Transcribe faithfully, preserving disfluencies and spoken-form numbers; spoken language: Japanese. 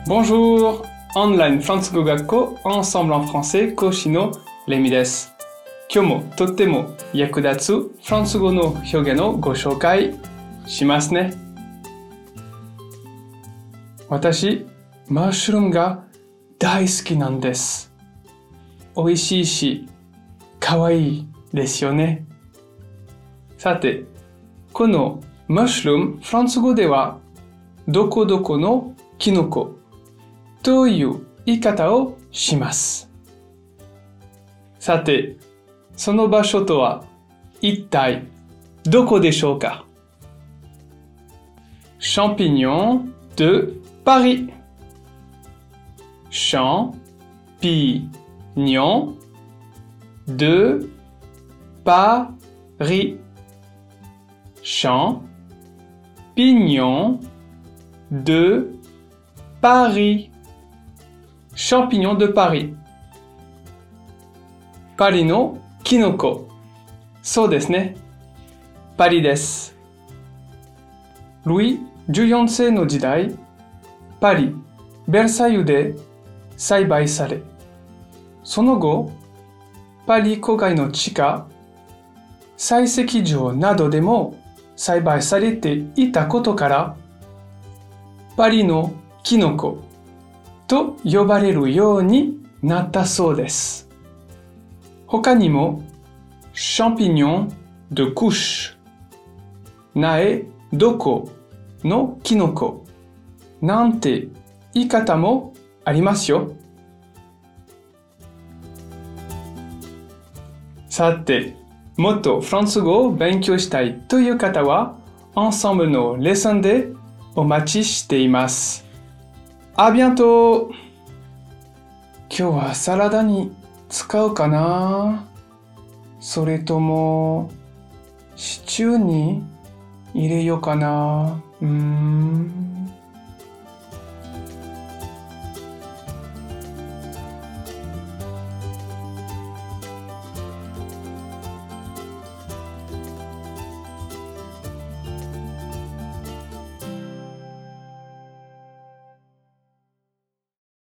Bonjour! オンラインフランス語学校 Ensemble en français 講師のレミです。今日もとっても役立つフランス語の表現をご紹介しますね。私、マッシュルームが大好きなんです。美味しいし、可愛いですよね。さて、このマッシュルーム、フランス語ではどこどこのキノコという言い方をします。さて、その場所とは一体どこでしょうか？ Champignon de Paris. Champignon de Paris. Champignon de Paris. Champignon de Paris. パリのキノコ。そうですね。パリです。ルイじゅうよんせいの時代、パリ、ベルサイユで栽培され、その後、パリ郊外の地下、採石場などでも栽培されていたことから、パリのキノコと呼ばれるようになったそうです。他にも、champignon de couche、苗床のキノコなんて言い方もありますよ。さて、もっとフランス語を勉強したいという方は、Ensembleのレッスンでお待ちしています。あ、bientôt! 今日はサラダに使うかな？それとも、シチューに入れようかな？うーん。